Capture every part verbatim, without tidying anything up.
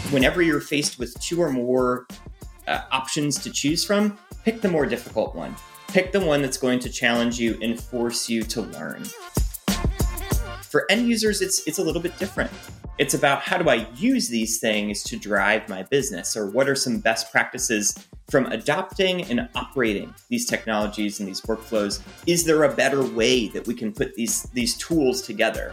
Whenever you're faced with two or more uh, options to choose from, pick the more difficult one. Pick the one that's going to challenge you and force you to learn. For end users, it's it's a little bit different. It's about how do I use these things to drive my business, or what are some best practices from adopting and operating these technologies and these workflows? Is there a better way that we can put these, these tools together?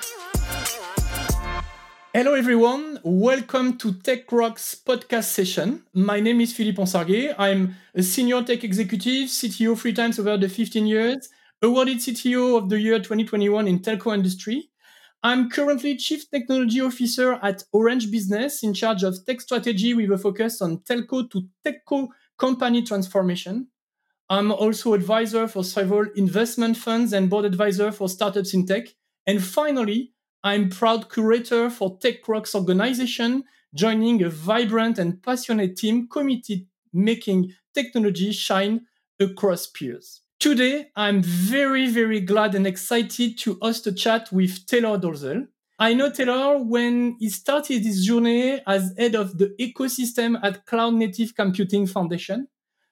Hello everyone, welcome to Tech Rocks podcast session. My name is Philippe Ansarguet. I'm a senior tech executive, C T O three times over the fifteen years, awarded C T O of the year twenty twenty-one in telco industry. I'm currently Chief Technology Officer at Orange Business, in charge of tech strategy with a focus on telco to techco company transformation. I'm also advisor for several investment funds and board advisor for startups in tech. And finally, I'm proud curator for Tech Rocks organization, joining a vibrant and passionate team committed making technology shine across peers. Today, I'm very, very glad and excited to host a chat with Taylor Dolezal. I know Taylor when he started his journey as head of the ecosystem at Cloud Native Computing Foundation.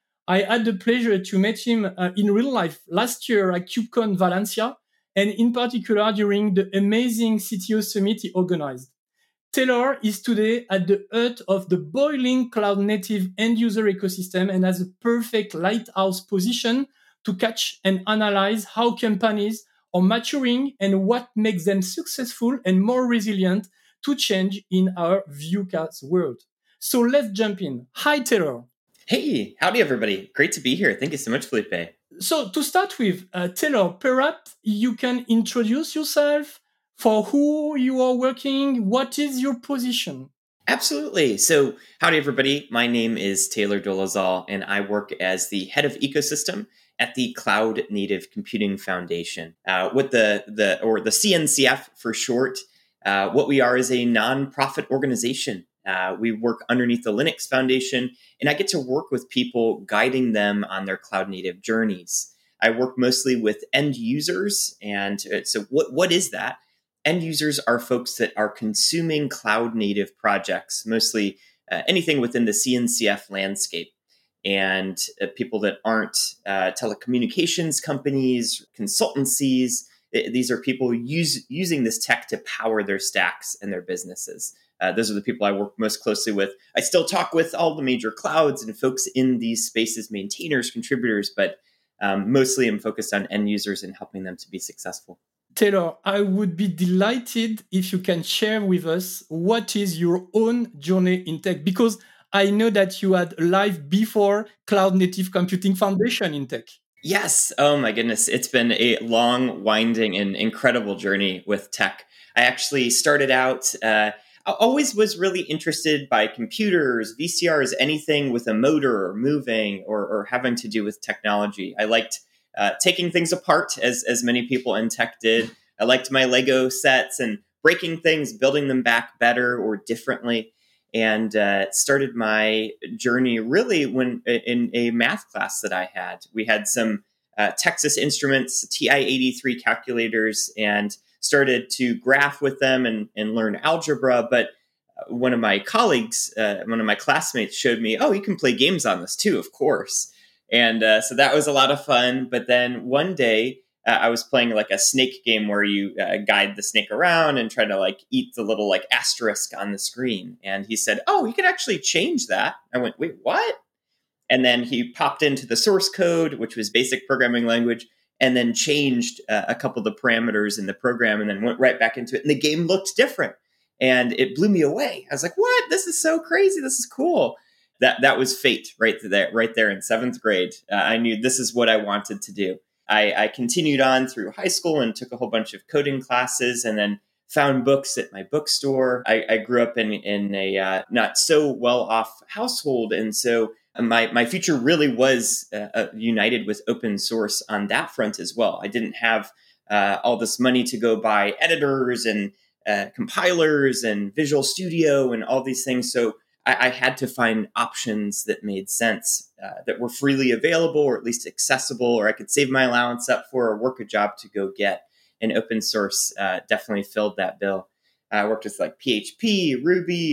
I had the pleasure to meet him uh, in real life last year at KubeCon Valencia, and in particular during the amazing C T O summit he organized. Taylor is today at the heart of the boiling cloud-native end-user ecosystem and has a perfect lighthouse position to catch and analyze how companies are maturing and what makes them successful and more resilient to change in our VUCA's world. So let's jump in. Hi, Taylor. Hey, howdy everybody. Great to be here. Thank you so much, Felipe. So to start with, uh, Taylor, perhaps you can introduce yourself, for who you are working, what is your position? Absolutely. So howdy everybody. My name is Taylor Dolezal, and I work as the head of ecosystem at the Cloud Native Computing Foundation. Uh, what the, the, or the C N C F for short, uh, what we are is a nonprofit organization. Uh, we work underneath the Linux Foundation, and I get to work with people, guiding them on their cloud native journeys. I work mostly with end users. And so what, what is that? End users are folks that are consuming cloud native projects, mostly uh, anything within the C N C F landscape. And uh, people that aren't uh, telecommunications companies, consultancies, th- these are people use, using this tech to power their stacks and their businesses. Uh, those are the people I work most closely with. I still talk with all the major clouds and folks in these spaces, maintainers, contributors, but um, mostly I'm focused on end users and helping them to be successful. Taylor, I would be delighted if you can share with us what is your own journey in tech, because I know that you had a life before Cloud Native Computing Foundation in tech. Yes. Oh my goodness. It's been a long, winding, and incredible journey with tech. I actually started out, uh, I always was really interested by computers, V C Rs, anything with a motor or moving or, or having to do with technology. I liked uh, taking things apart, as, as many people in tech did. I liked my Lego sets and breaking things, building them back better or differently. And uh, started my journey really when in a math class that I had. We had some uh, Texas Instruments T I eighty-three calculators and started to graph with them and, and learn algebra. But one of my colleagues, uh, one of my classmates showed me, oh, you can play games on this too, of course. And uh, so that was a lot of fun. But then one day uh, I was playing like a snake game where you uh, guide the snake around and try to like eat the little like asterisk on the screen. And he said, oh, you can actually change that. I went, wait, what? And then he popped into the source code, which was basic programming language, and then changed uh, a couple of the parameters in the program and then went right back into it. And the game looked different. And it blew me away. I was like, what? This is so crazy. This is cool. That that was fate right there, right there in seventh grade. Uh, I knew this is what I wanted to do. I, I continued on through high school and took a whole bunch of coding classes and then found books at my bookstore. I, I grew up in, in a uh, not so well-off household. And so my, my future really was uh, uh, united with open source on that front as well. I didn't have uh, all this money to go buy editors and uh, compilers and Visual Studio and all these things. So I, I had to find options that made sense, uh, that were freely available or at least accessible, or I could save my allowance up for or work a job to go get. And open source uh, definitely filled that bill. I worked with like P H P, Ruby,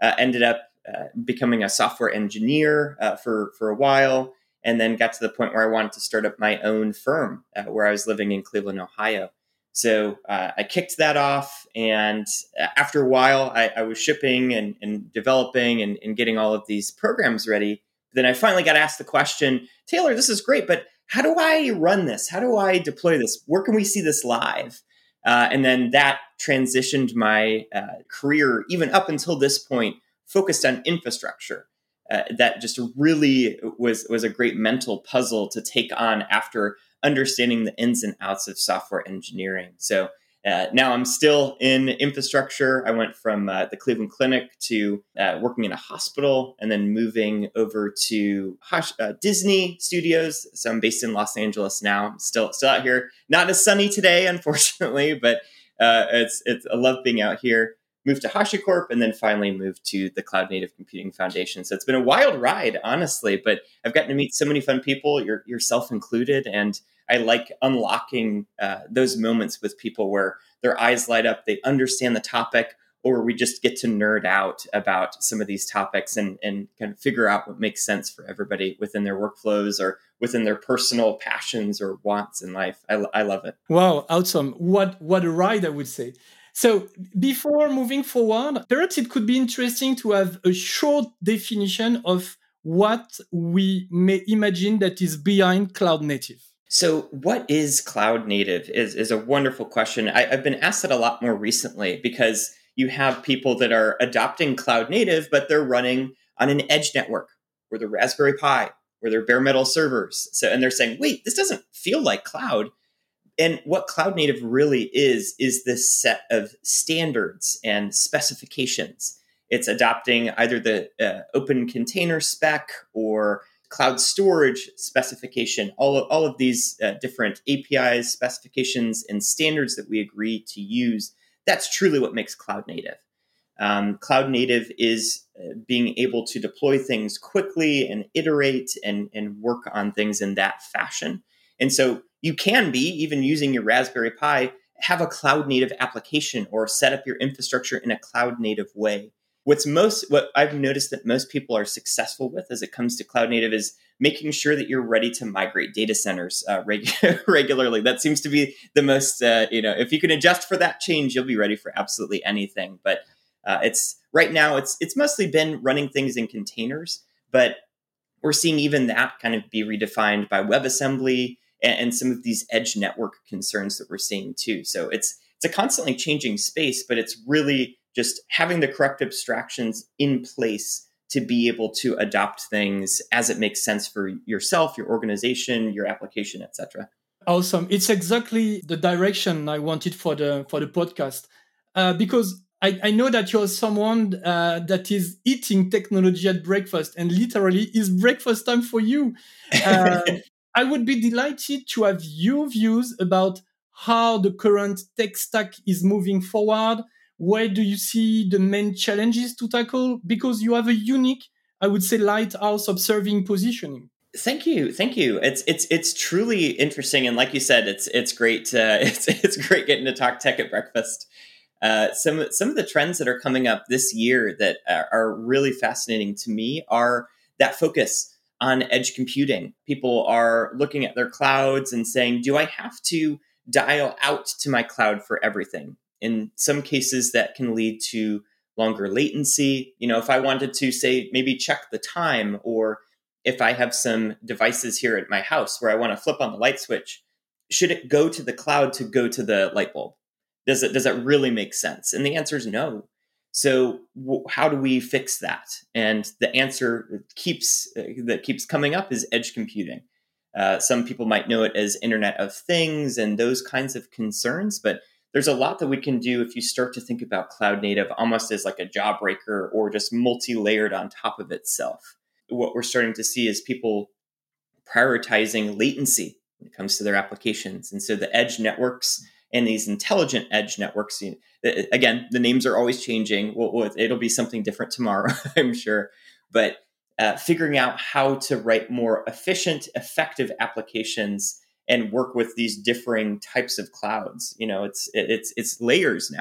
uh, ended up uh, becoming a software engineer uh, for, for a while, and then got to the point where I wanted to start up my own firm uh, where I was living in Cleveland, Ohio. So uh, I kicked that off, and after a while, I, I was shipping and, and developing and, and getting all of these programs ready. Then I finally got asked the question, Taylor, this is great, but how do I run this? How do I deploy this? Where can we see this live? Uh, and then that transitioned my uh, career, even up until this point, focused on infrastructure. Uh, that just really was was a great mental puzzle to take on after understanding the ins and outs of software engineering. So uh, now I'm still in infrastructure. I went from uh, the Cleveland Clinic to uh, working in a hospital, and then moving over to Hush, uh, Disney Studios. So I'm based in Los Angeles now. I'm still still out here. Not as sunny today, unfortunately, but uh, it's it's I love being out here. Moved to HashiCorp, and then finally moved to the Cloud Native Computing Foundation. So it's been a wild ride, honestly, but I've gotten to meet so many fun people, your, yourself included, and I like unlocking uh, those moments with people where their eyes light up, they understand the topic, or we just get to nerd out about some of these topics and, and kind of figure out what makes sense for everybody within their workflows or within their personal passions or wants in life. I, I love it. Wow, awesome. What, what a ride, I would say. So before moving forward, perhaps it could be interesting to have a short definition of what we may imagine that is behind cloud native. So what is cloud native is, is a wonderful question. I, I've been asked it a lot more recently because you have people that are adopting cloud native, but they're running on an edge network or the Raspberry Pi or their bare metal servers. So, and they're saying, wait, this doesn't feel like cloud. And what cloud native really is, is this set of standards and specifications. It's adopting either the uh, open container spec or cloud storage specification, all of, all of these uh, different A P Is, specifications, and standards that we agree to use. That's truly what makes cloud native. Um, cloud native is uh, being able to deploy things quickly and iterate and, and work on things in that fashion. And so you can be, even using your Raspberry Pi, have a cloud native application or set up your infrastructure in a cloud native way. What's most, what I've noticed that most people are successful with as it comes to cloud native is making sure that you're ready to migrate data centers uh, reg- regularly. That seems to be the most, uh, you know, if you can adjust for that change, you'll be ready for absolutely anything. But uh, it's right now, it's it's mostly been running things in containers, but we're seeing even that kind of be redefined by WebAssembly and, and some of these edge network concerns that we're seeing too. So it's it's a constantly changing space, but it's really just having the correct abstractions in place to be able to adopt things as it makes sense for yourself, your organization, your application, et cetera. Awesome. It's exactly the direction I wanted for the for the podcast, uh, because I, I know that you're someone uh, that is eating technology at breakfast, and literally is breakfast time for you. Uh, I would be delighted to have your views about how the current tech stack is moving forward. Where do you see the main challenges to tackle? Because you have a unique, I would say, lighthouse observing positioning. Thank you, thank you. It's it's it's truly interesting, and like you said, it's it's great. Uh, it's it's great getting to talk tech at breakfast. Uh, some some of the trends that are coming up this year that are, are really fascinating to me are that focus on edge computing. People are looking at their clouds and saying, "Do I have to dial out to my cloud for everything?" In some cases, that can lead to longer latency. You know, if I wanted to say maybe check the time, or if I have some devices here at my house where I want to flip on the light switch, should it go to the cloud to go to the light bulb? Does it does that really make sense? And the answer is no. So w- how do we fix that? And the answer keeps uh, that keeps coming up is edge computing. Uh, some people might know it as Internet of Things and those kinds of concerns, but there's a lot that we can do if you start to think about cloud native almost as like a jawbreaker or just multi-layered on top of itself. What we're starting to see is people prioritizing latency when it comes to their applications. And so the edge networks and these intelligent edge networks, you know, again, the names are always changing. Well, it'll be something different tomorrow, I'm sure. But uh, figuring out how to write more efficient, effective applications and work with these differing types of clouds. You know, it's it's it's layers now.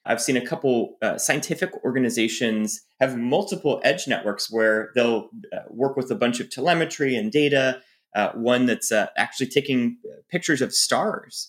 I've seen a couple uh, scientific organizations have multiple edge networks where they'll uh, work with a bunch of telemetry and data. Uh, one that's uh, actually taking pictures of stars,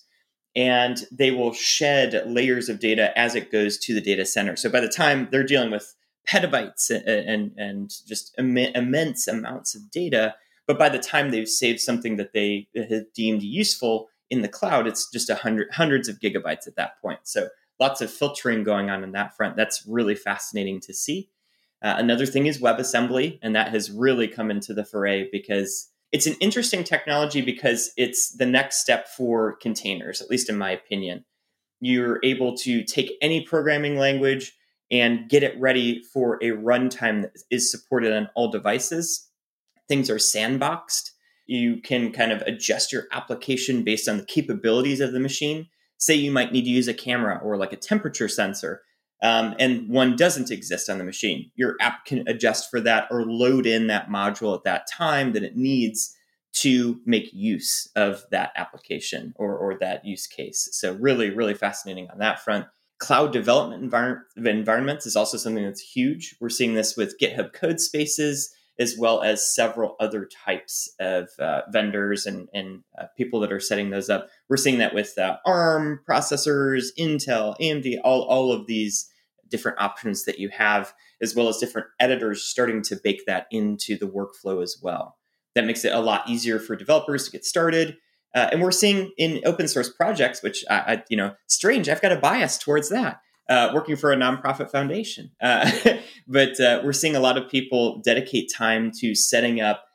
and they will shed layers of data as it goes to the data center. So by the time they're dealing with petabytes and and, and just Im- immense amounts of data, but by the time they've saved something that they have deemed useful in the cloud, it's just a hundred hundreds of gigabytes at that point. So lots of filtering going on in that front. That's really fascinating to see. Uh, another thing is WebAssembly, and that has really come into the foray because it's an interesting technology because it's the next step for containers, at least in my opinion. You're able to take any programming language and get it ready for a runtime that is supported on all devices. Things are sandboxed. You can kind of adjust your application based on the capabilities of the machine. Say you might need to use a camera or like a temperature sensor, um, and one doesn't exist on the machine. Your app can adjust for that or load in that module at that time that it needs to make use of that application or, or that use case. So really, really fascinating on that front. Cloud development envir- environments is also something that's huge. We're seeing this with GitHub code spaces, as well as several other types of uh, vendors and, and uh, people that are setting those up. We're seeing that with uh, ARM processors, Intel, A M D, all, all of these different options that you have, as well as different editors starting to bake that into the workflow as well. That makes it a lot easier for developers to get started. Uh, and we're seeing in open source projects, which, I, I, you know, strange, I've got a bias towards that. Uh, working for a nonprofit foundation. Uh, but uh, we're seeing a lot of people dedicate time to setting up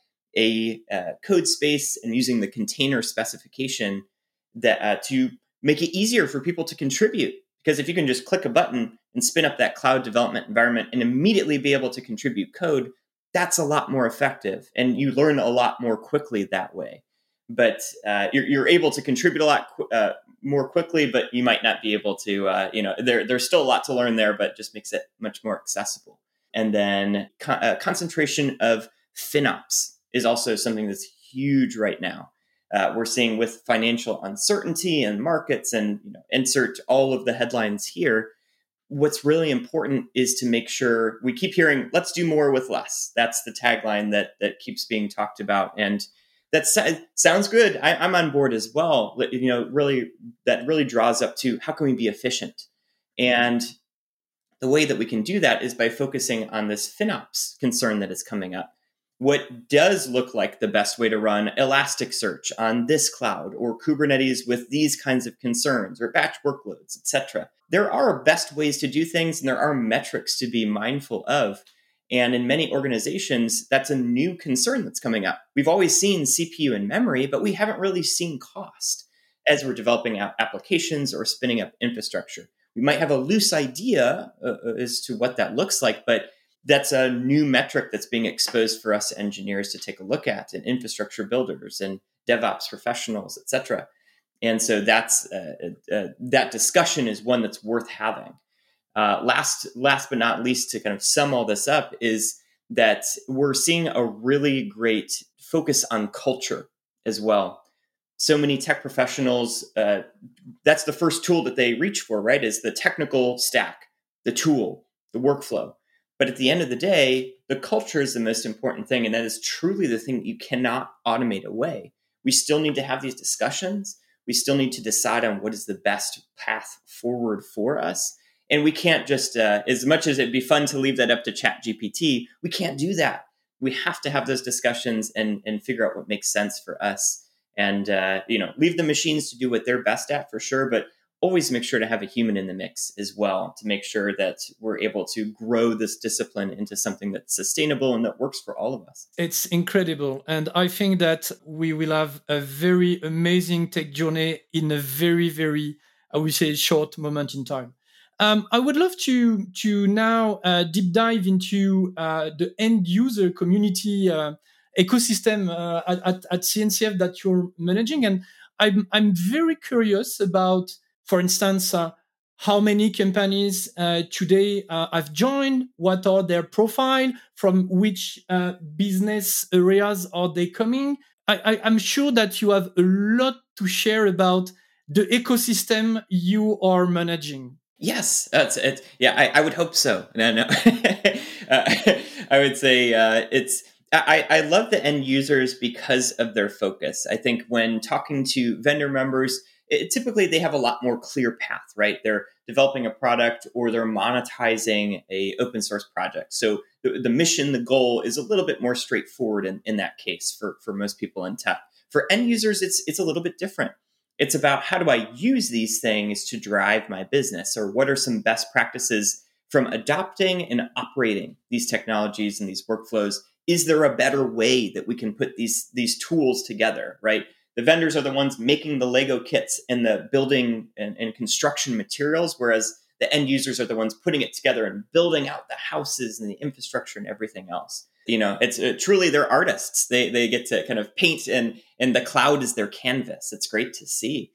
a uh, code space and using the container specification that uh, to make it easier for people to contribute. Because if you can just click a button and spin up that cloud development environment and immediately be able to contribute code, that's a lot more effective. And you learn a lot more quickly that way. But uh, you're, you're able to contribute a lot uh, more quickly, but you might not be able to, uh, you know, there, there's still a lot to learn there, but just makes it much more accessible. And then con- uh, concentration of FinOps is also something that's huge right now. Uh, we're seeing with financial uncertainty and markets and, you know, insert all of the headlines here. What's really important is to make sure we keep hearing, let's do more with less. That's the tagline that that keeps being talked about. And that sounds good. I, I'm on board as well. You know, really, that really draws up to how can we be efficient? And the way that we can do that is by focusing on this FinOps concern that is coming up. What does look like the best way to run Elasticsearch on this cloud or Kubernetes with these kinds of concerns or batch workloads, et cetera? There are best ways to do things and there are metrics to be mindful of. And in many organizations, that's a new concern that's coming up. We've always seen C P U and memory, but we haven't really seen cost as we're developing applications or spinning up infrastructure. We might have a loose idea uh, as to what that looks like, but that's a new metric that's being exposed for us engineers to take a look at, and infrastructure builders and DevOps professionals, et cetera. And so that's uh, uh, that discussion is one that's worth having. Uh, last, last but not least, to kind of sum all this up, is that we're seeing a really great focus on culture as well. So many tech professionals, uh, that's the first tool that they reach for, right? Is the technical stack, the tool, the workflow. But at the end of the day, the culture is the most important thing. And that is truly the thing that you cannot automate away. We still need to have these discussions. We still need to decide on what is the best path forward for us. And we can't just, uh, as much as it'd be fun to leave that up to ChatGPT, we can't do that. We have to have those discussions and, and figure out what makes sense for us. And, uh, you know, leave the machines to do what they're best at for sure, but always make sure to have a human in the mix as well to make sure that we're able to grow this discipline into something that's sustainable and that works for all of us. It's incredible. And I think that we will have a very amazing tech journey in a very, very, I would say, short moment in time. Um, I would love to to now uh, deep dive into uh, the end user community uh, ecosystem uh, at, at C N C F that you're managing, and I'm I'm very curious about, for instance, uh, how many companies uh, today uh, have joined, what are their profile, from which uh, business areas are they coming. I, I, I'm sure that you have a lot to share about the ecosystem you are managing. Yes, that's it. Yeah, I, I would hope so. No, no. uh, I would say uh, it's. I, I love the end users because of their focus. I think when talking to vendor members, it, typically they have a lot more clear path, right? They're developing a product or they're monetizing a open source project. So the, the mission, the goal is a little bit more straightforward in, in that case for, for most people in tech. For end users, it's it's a little bit different. It's about how do I use these things to drive my business, or what are some best practices from adopting and operating these technologies and these workflows. Is there a better way that we can put these, these tools together, right? The vendors are the ones making the Lego kits and the building and, and construction materials, whereas the end users are the ones putting it together and building out the houses and the infrastructure and everything else. You know, it's uh, truly they're artists. They they get to kind of paint, and and the cloud is their canvas. It's great to see.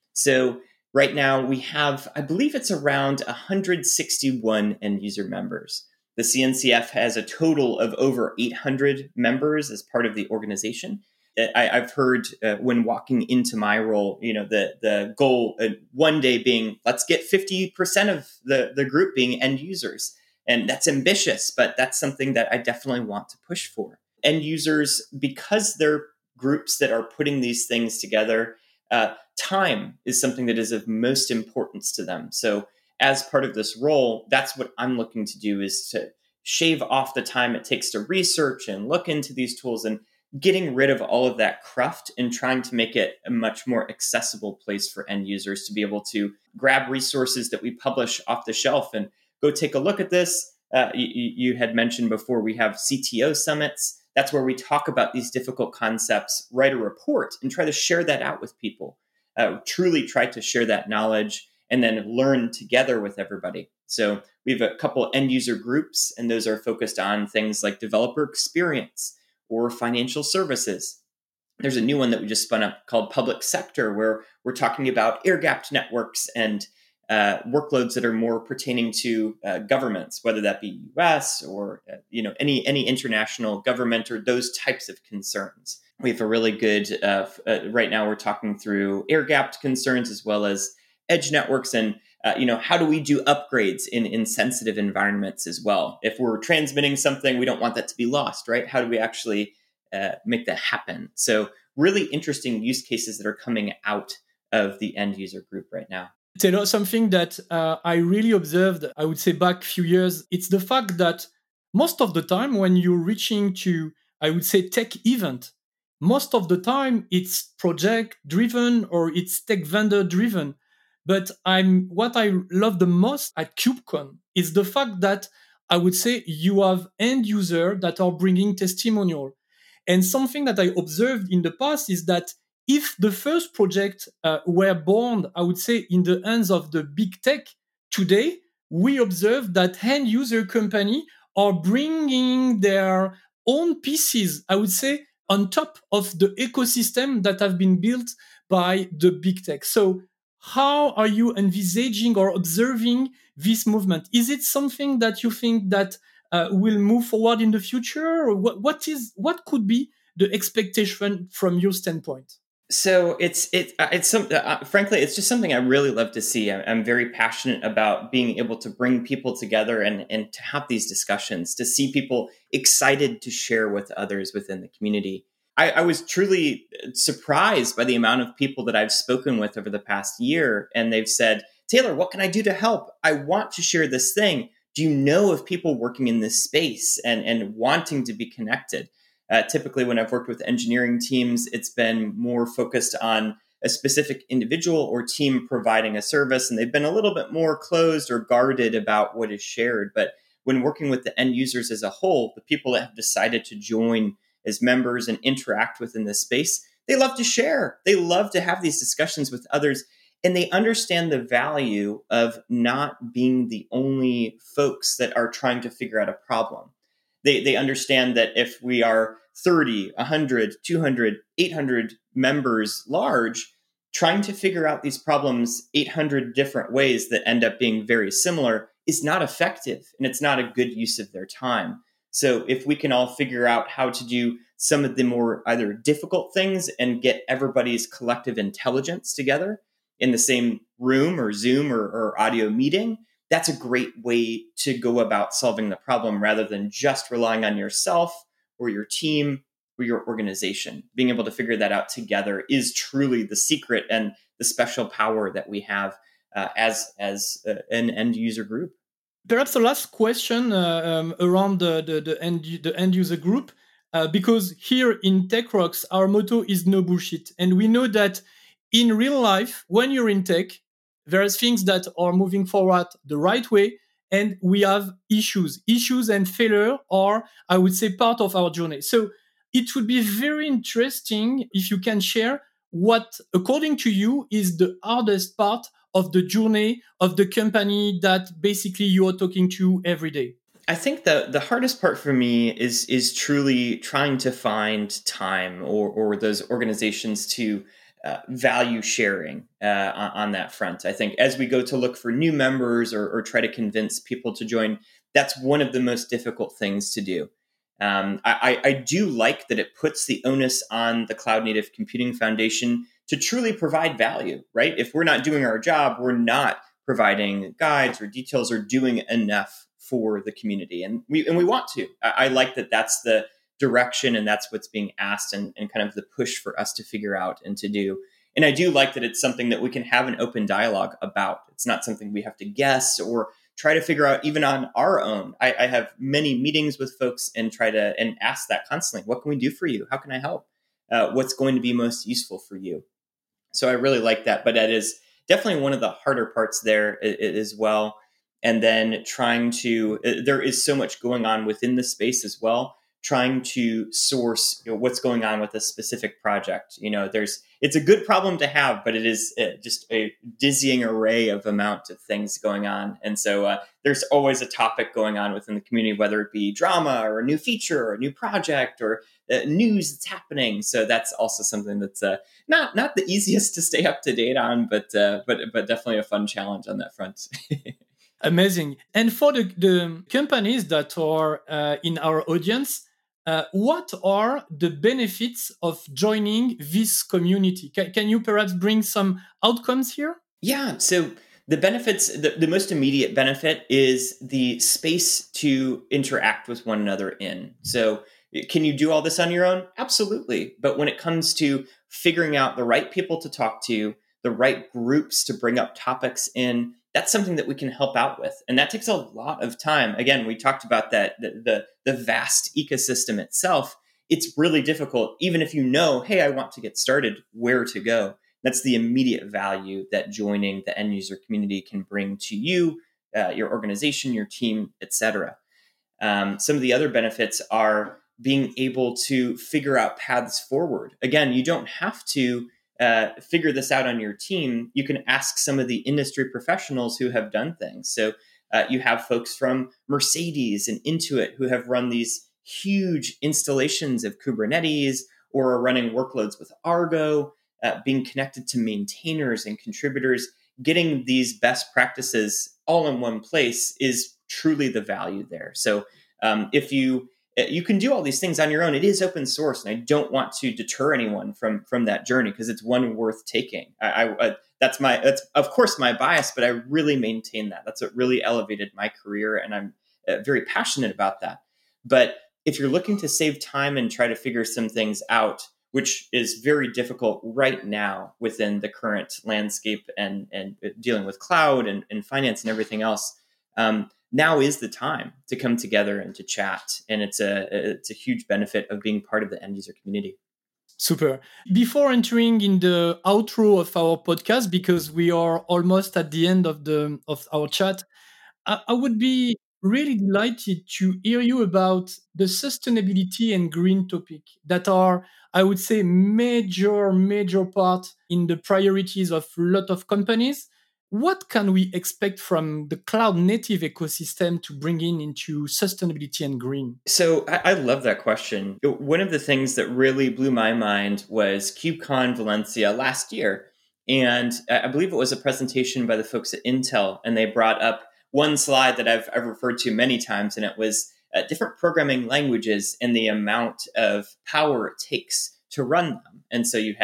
So right now we have, I believe it's around one hundred sixty-one end user members. The C N C F has a total of over eight hundred members as part of the organization. I, I've heard uh, when walking into my role, you know, the the goal uh, one day being, let's get fifty percent of the, the group being end users. And that's ambitious, but that's something that I definitely want to push for. End users, because they're groups that are putting these things together, uh, time is something that is of most importance to them. So as part of this role, that's what I'm looking to do, is to shave off the time it takes to research and look into these tools, and getting rid of all of that cruft and trying to make it a much more accessible place for end users to be able to grab resources that we publish off the shelf and go take a look at this. Uh, you, you had mentioned before, we have C T O summits. That's where we talk about these difficult concepts, write a report, and try to share that out with people. Uh, truly try to share that knowledge and then learn together with everybody. So we have a couple end user groups, and those are focused on things like developer experience or financial services. There's a new one that we just spun up called public sector, where we're talking about air-gapped networks and uh, workloads that are more pertaining to uh, governments, whether that be U S or uh, you know any any international government, or those types of concerns. We have a really good, uh, uh, right now we're talking through air-gapped concerns as well as edge networks, and uh, you know how do we do upgrades in, in sensitive environments as well? If we're transmitting something, we don't want that to be lost, right? How do we actually uh, make that happen? So really interesting use cases that are coming out of the end user group right now. Taylor, something that uh, I really observed, I would say back a few years, it's the fact that most of the time when you're reaching to, I would say, tech event, most of the time it's project driven or it's tech vendor driven. But I'm what I love the most at KubeCon is the fact that I would say you have end user that are bringing testimonial. And something that I observed in the past is that if the first project uh, were born, I would say, in the hands of the big tech, today we observe that end user company are bringing their own pieces, I would say, on top of the ecosystem that have been built by the big tech. So how are you envisaging or observing this movement? Is it something that you think that uh, will move forward in the future, or what, what is what could be the expectation from your standpoint? So it's it uh, it's some uh, frankly it's just something I really love to see. I'm, I'm very passionate about being able to bring people together and and to have these discussions, to see people excited to share with others within the community. I, I was truly surprised by the amount of people that I've spoken with over the past year, and they've said, "Taylor, what can I do to help? I want to share this thing. Do you know of people working in this space and and wanting to be connected?" Uh, typically, when I've worked with engineering teams, it's been more focused on a specific individual or team providing a service, and they've been a little bit more closed or guarded about what is shared. But when working with the end users as a whole, the people that have decided to join as members and interact within this space, they love to share. They love to have these discussions with others, and they understand the value of not being the only folks that are trying to figure out a problem. They they understand that if we are thirty, one hundred, two hundred, eight hundred members large, trying to figure out these problems eight hundred different ways that end up being very similar is not effective, and it's not a good use of their time. So if we can all figure out how to do some of the more either difficult things and get everybody's collective intelligence together, in the same room or Zoom or, or audio meeting, that's a great way to go about solving the problem rather than just relying on yourself or your team or your organization. Being able to figure that out together is truly the secret and the special power that we have uh, as, as uh, an end user group. Perhaps the last question uh, um, around the, the, the, end, the end user group, uh, because here in TechRox, our motto is no bullshit. And we know that in real life, when you're in tech, there are things that are moving forward the right way, and we have issues. Issues and failure are, I would say, part of our journey. So it would be very interesting if you can share what, according to you, is the hardest part of the journey of the company that basically you are talking to every day? I think the the hardest part for me is is truly trying to find time or or those organizations to uh, value sharing uh, on, on that front. I think as we go to look for new members or, or try to convince people to join, that's one of the most difficult things to do. Um, I, I do like that it puts the onus on the Cloud Native Computing Foundation to truly provide value, right? If we're not doing our job, we're not providing guides or details or doing enough for the community. And we and we want to. I, I like that that's the direction and that's what's being asked and, and kind of the push for us to figure out and to do. And I do like that it's something that we can have an open dialogue about. It's not something we have to guess or try to figure out even on our own. I, I have many meetings with folks and try to and ask that constantly. What can we do for you? How can I help? Uh, what's going to be most useful for you? So I really like that. But that is definitely one of the harder parts there as well. And then trying to, there is so much going on within the space as well. Trying to source, you know, what's going on with a specific project. You know, there's it's a good problem to have, but it is uh, just a dizzying array of amount of things going on. And so uh, there's always a topic going on within the community, whether it be drama or a new feature or a new project or uh, news that's happening. So that's also something that's uh, not not the easiest to stay up to date on, but uh, but but definitely a fun challenge on that front. Amazing. And for the, the companies that are uh, in our audience, Uh, what are the benefits of joining this community? Can, can you perhaps bring some outcomes here? Yeah. So the benefits, the, the most immediate benefit is the space to interact with one another in. So can you do all this on your own? Absolutely. But when it comes to figuring out the right people to talk to, the right groups to bring up topics in, that's something that we can help out with. And that takes a lot of time. Again, we talked about that, the, the, the vast ecosystem itself. It's really difficult, even if you know, hey, I want to get started, where to go. That's the immediate value that joining the end user community can bring to you, uh, your organization, your team, et cetera. Um, some of the other benefits are being able to figure out paths forward. Again, you don't have to Uh, figure this out on your team. You can ask some of the industry professionals who have done things. So uh, you have folks from Mercedes and Intuit who have run these huge installations of Kubernetes or are running workloads with Argo, uh, being connected to maintainers and contributors. Getting these best practices all in one place is truly the value there. So um, if you You can do all these things on your own. It is open source, and I don't want to deter anyone from from that journey because it's one worth taking. I, I, I that's my that's of course my bias, but I really maintain that. That's what really elevated my career, and I'm uh, very passionate about that. But if you're looking to save time and try to figure some things out, which is very difficult right now within the current landscape and and dealing with cloud and, and finance and everything else. Um, Now is the time to come together and to chat. And it's a it's a huge benefit of being part of the end user community. Super. Before entering in the outro of our podcast, because we are almost at the end of the of our chat, I, I would be really delighted to hear you about the sustainability and green topic that are, I would say, major, major part in the priorities of a lot of companies. What can we expect from the cloud native ecosystem to bring in into sustainability and green? So I, I love that question. One of the things that really blew my mind was KubeCon Valencia last year. And I believe it was a presentation by the folks at Intel, and they brought up one slide that I've, I've referred to many times, and it was uh, different programming languages and the amount of power it takes to run them. And so you had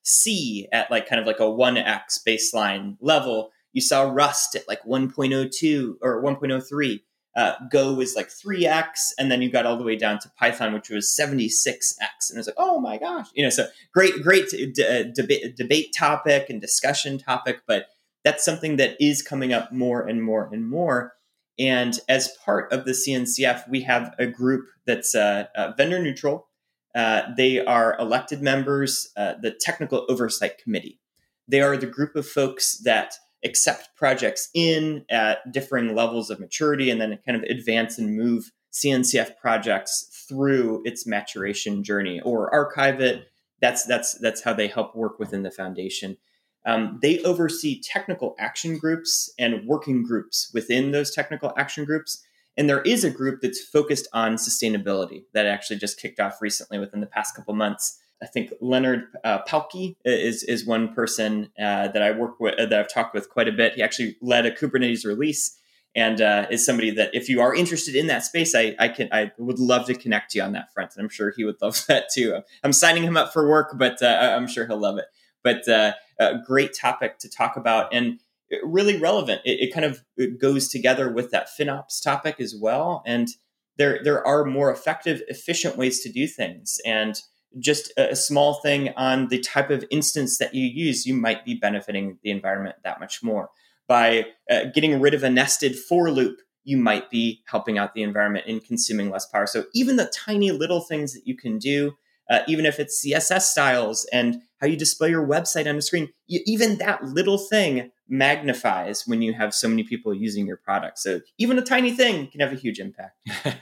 C at like kind of like a one x baseline level. You saw Rust at like one point oh two or one point oh three. Uh, Go was like three x, and then you got all the way down to Python, which was seventy-six x. And it's like, oh my gosh, you know, so great, great d- uh, debate, debate topic and discussion topic, but that's something that is coming up more and more and more. And as part of the C N C F, we have a group that's uh, uh, vendor neutral. Uh, they are elected members, uh, the Technical Oversight Committee. They are the group of folks that accept projects in at differing levels of maturity and then kind of advance and move C N C F projects through its maturation journey or archive it. That's that's that's how they help work within the foundation. Um, they oversee technical action groups and working groups within those technical action groups. And there is a group that's focused on sustainability that actually just kicked off recently within the past couple months. I think Leonard uh, Palke is is one person uh, that I work with, uh, that I've talked with quite a bit. He actually led a Kubernetes release, and uh, is somebody that if you are interested in that space, I I can I would love to connect you on that front, and I'm sure he would love that too. I'm signing him up for work, but uh, I'm sure he'll love it. But uh, a great topic to talk about, and really relevant. It, it kind of it goes together with that FinOps topic as well, and there there are more effective, efficient ways to do things, and just a small thing on the type of instance that you use, you might be benefiting the environment that much more. By uh, getting rid of a nested for loop, you might be helping out the environment and consuming less power. So even the tiny little things that you can do, uh, even if it's C S S styles and how you display your website on the screen, you, even that little thing magnifies when you have so many people using your product. So even a tiny thing can have a huge impact.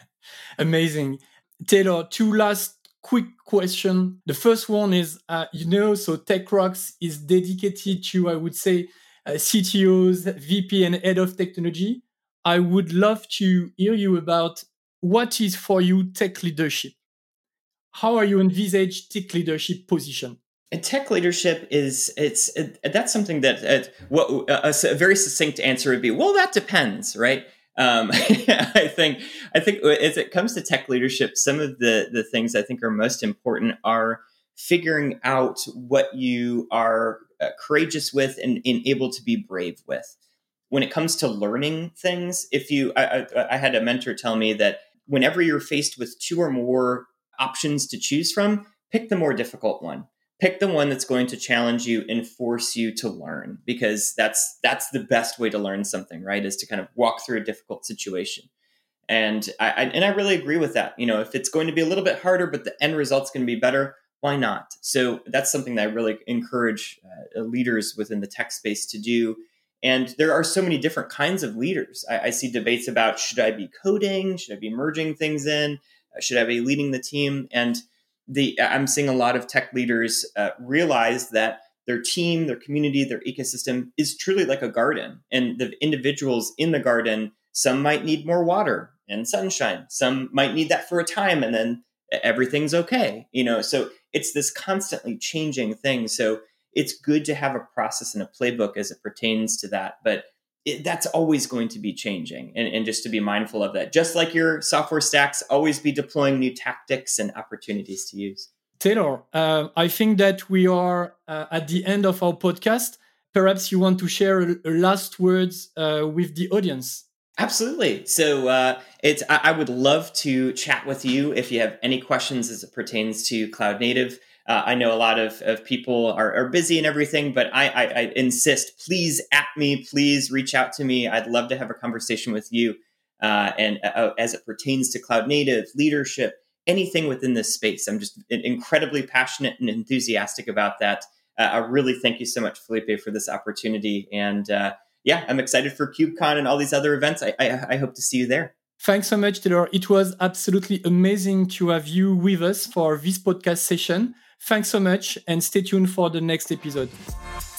Amazing. Taylor, two last quick question. The first one is, uh, you know, so TechRox is dedicated to, I would say, uh, C T Os, V P, and head of technology. I would love to hear you about what is for you tech leadership. How are you envisage tech leadership position? And tech leadership is it's it, that's something that uh, what a, a very succinct answer would be. Well, that depends, right? Um, I think I think as it comes to tech leadership, some of the the things I think are most important are figuring out what you are uh, courageous with and, and able to be brave with. When it comes to learning things, if you, I, I, I had a mentor tell me that whenever you're faced with two or more options to choose from, pick the more difficult one. Pick the one that's going to challenge you and force you to learn, because that's that's the best way to learn something, right? Is to kind of walk through a difficult situation. And I, I and I really agree with that. You know, if it's going to be a little bit harder, but the end result's going to be better, why not? So that's something that I really encourage uh, leaders within the tech space to do. And there are so many different kinds of leaders. I, I see debates about, should I be coding? Should I be merging things in? Should I be leading the team? And The, I'm seeing a lot of tech leaders uh, realize that their team, their community, their ecosystem is truly like a garden. And the individuals in the garden, some might need more water and sunshine. Some might need that for a time, and then everything's okay. You know, so it's this constantly changing thing. So it's good to have a process and a playbook as it pertains to that. But It, that's always going to be changing, and, and just to be mindful of that. Just like your software stacks, always be deploying new tactics and opportunities to use. Taylor, uh, I think that we are uh, at the end of our podcast. Perhaps you want to share a, a last words uh, with the audience. Absolutely. So uh, it's I, I would love to chat with you if you have any questions as it pertains to cloud native. Uh, I know a lot of, of people are, are busy and everything, but I, I, I insist, please at me, please reach out to me. I'd love to have a conversation with you. Uh, and uh, as it pertains to cloud native, leadership, anything within this space, I'm just incredibly passionate and enthusiastic about that. Uh, I really thank you so much, Felipe, for this opportunity. And uh, yeah, I'm excited for KubeCon and all these other events. I, I, I hope to see you there. Thanks so much, Taylor. It was absolutely amazing to have you with us for this podcast session. Thanks so much, and stay tuned for the next episode.